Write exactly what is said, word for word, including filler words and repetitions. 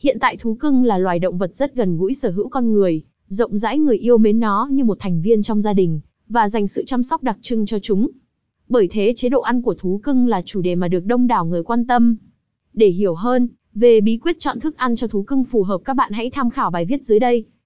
Hiện tại thú cưng là loài động vật rất gần gũi sở hữu con người, rộng rãi người yêu mến nó như một thành viên trong gia đình, và dành sự chăm sóc đặc trưng cho chúng. Bởi thế chế độ ăn của thú cưng là chủ đề mà được đông đảo người quan tâm. Để hiểu hơn về bí quyết chọn thức ăn cho thú cưng phù hợp, các bạn hãy tham khảo bài viết dưới đây.